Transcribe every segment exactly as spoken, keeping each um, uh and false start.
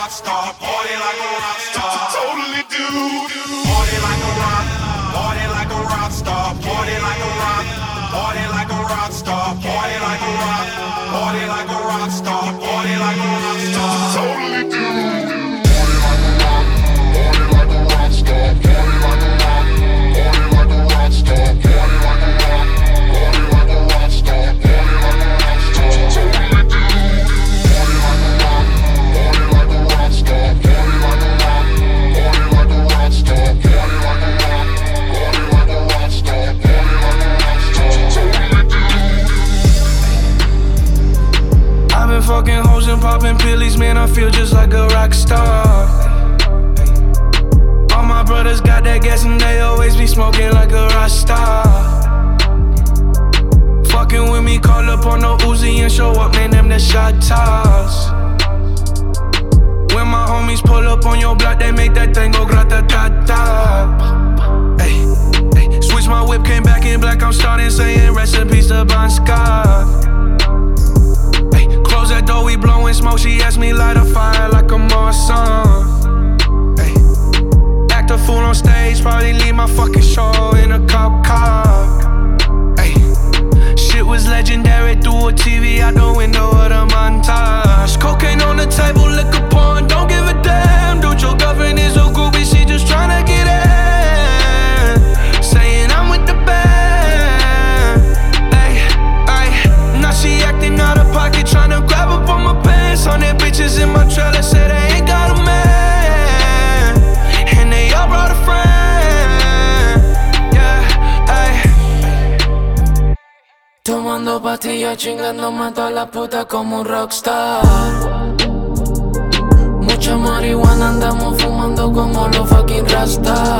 rock star, party like a rock star. Totally do. Party like a rock, party like a rock star, party like a rock, party like a rock star, party like a rock, party like a rock star, party like a rock star. Totally do. Party like a rock, party like a rock star, party like a rock, party like a rock star, party like a rock, party like a rock star, party like a rock star. Totally do. Party like a rock, party like a rock star, party like a rock, party like a rock star, party like a rock, party like a rock star, party like a rock star. Totally do. I've been fucking hoes and popping pillies, man, I feel just like a rock star. All my brothers got that gas and they always be smoking like a rock star. Fucking with me, call up on the Uzi and show up, man, them the shot toss. When my homies pull up on your block, they make that thing go grata-ta-ta. Ay, ay. Switch my whip, came back in black, I'm starting saying recipes to Bon Scott. Ay, close that door, we blowing smoke, she asked me light a fire like a Marsan. Ay, act a fool on stage, probably leave my fucking show in a cop car. Ay, shit was legendary through a T V out the window of the montage. Cocaine on the table, liquor porn, don't give a damn. Dude, your girlfriend is a groupie, she just tryna get in. Saying I'm with the band. Ay, ay, now she acting out of pocket, tryna grab up on my pants. On their bitches in my trailer, say they ain't got a man. And they all brought a friend. Yeah, ay. Tomando pastillas, chingándome a todas las putas como un rockstar. Mucha marihuana, andamos fumando como los fucking rasta.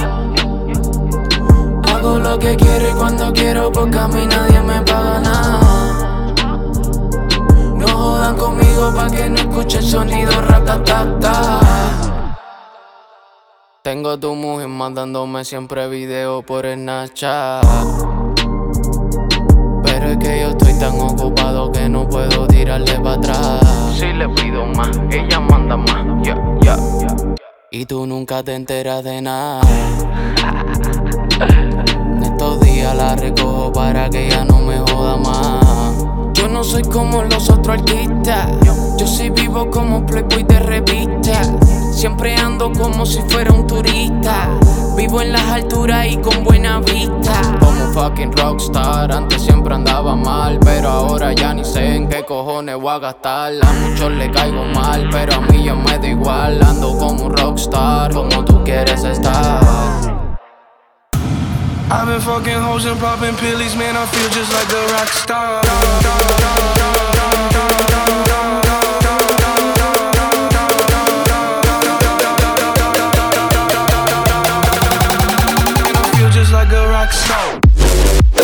Hago lo que quiero y cuando quiero porque a mí nadie me paga nada. No jodan conmigo pa' que no escuche el sonido ratatata. Tengo a tu mujer mandándome siempre videos por Snapchat. Pero es que yo estoy tan ocupado que no puedo tirarle para atrás. Si le pido más, ella manda más, yeah, yeah. Y tú nunca te enteras de nada. Estos días la recojo para que ella no me joda más. Yo no soy como los otros artistas. Yo sí vivo como playboy de revista. Siempre ando como si fuera un turista. Vivo en las alturas y con buena vista. Como un fucking rockstar. Antes siempre andaba mal, pero ahora ya ni sé en qué cojones voy a gastar. A muchos le caigo mal, pero a mí ya me da igual. Ando como un rockstar, como tú quieres estar. I've been fucking hoes and popping pillies, man, I feel just like a rock star. And I feel just like a rock star.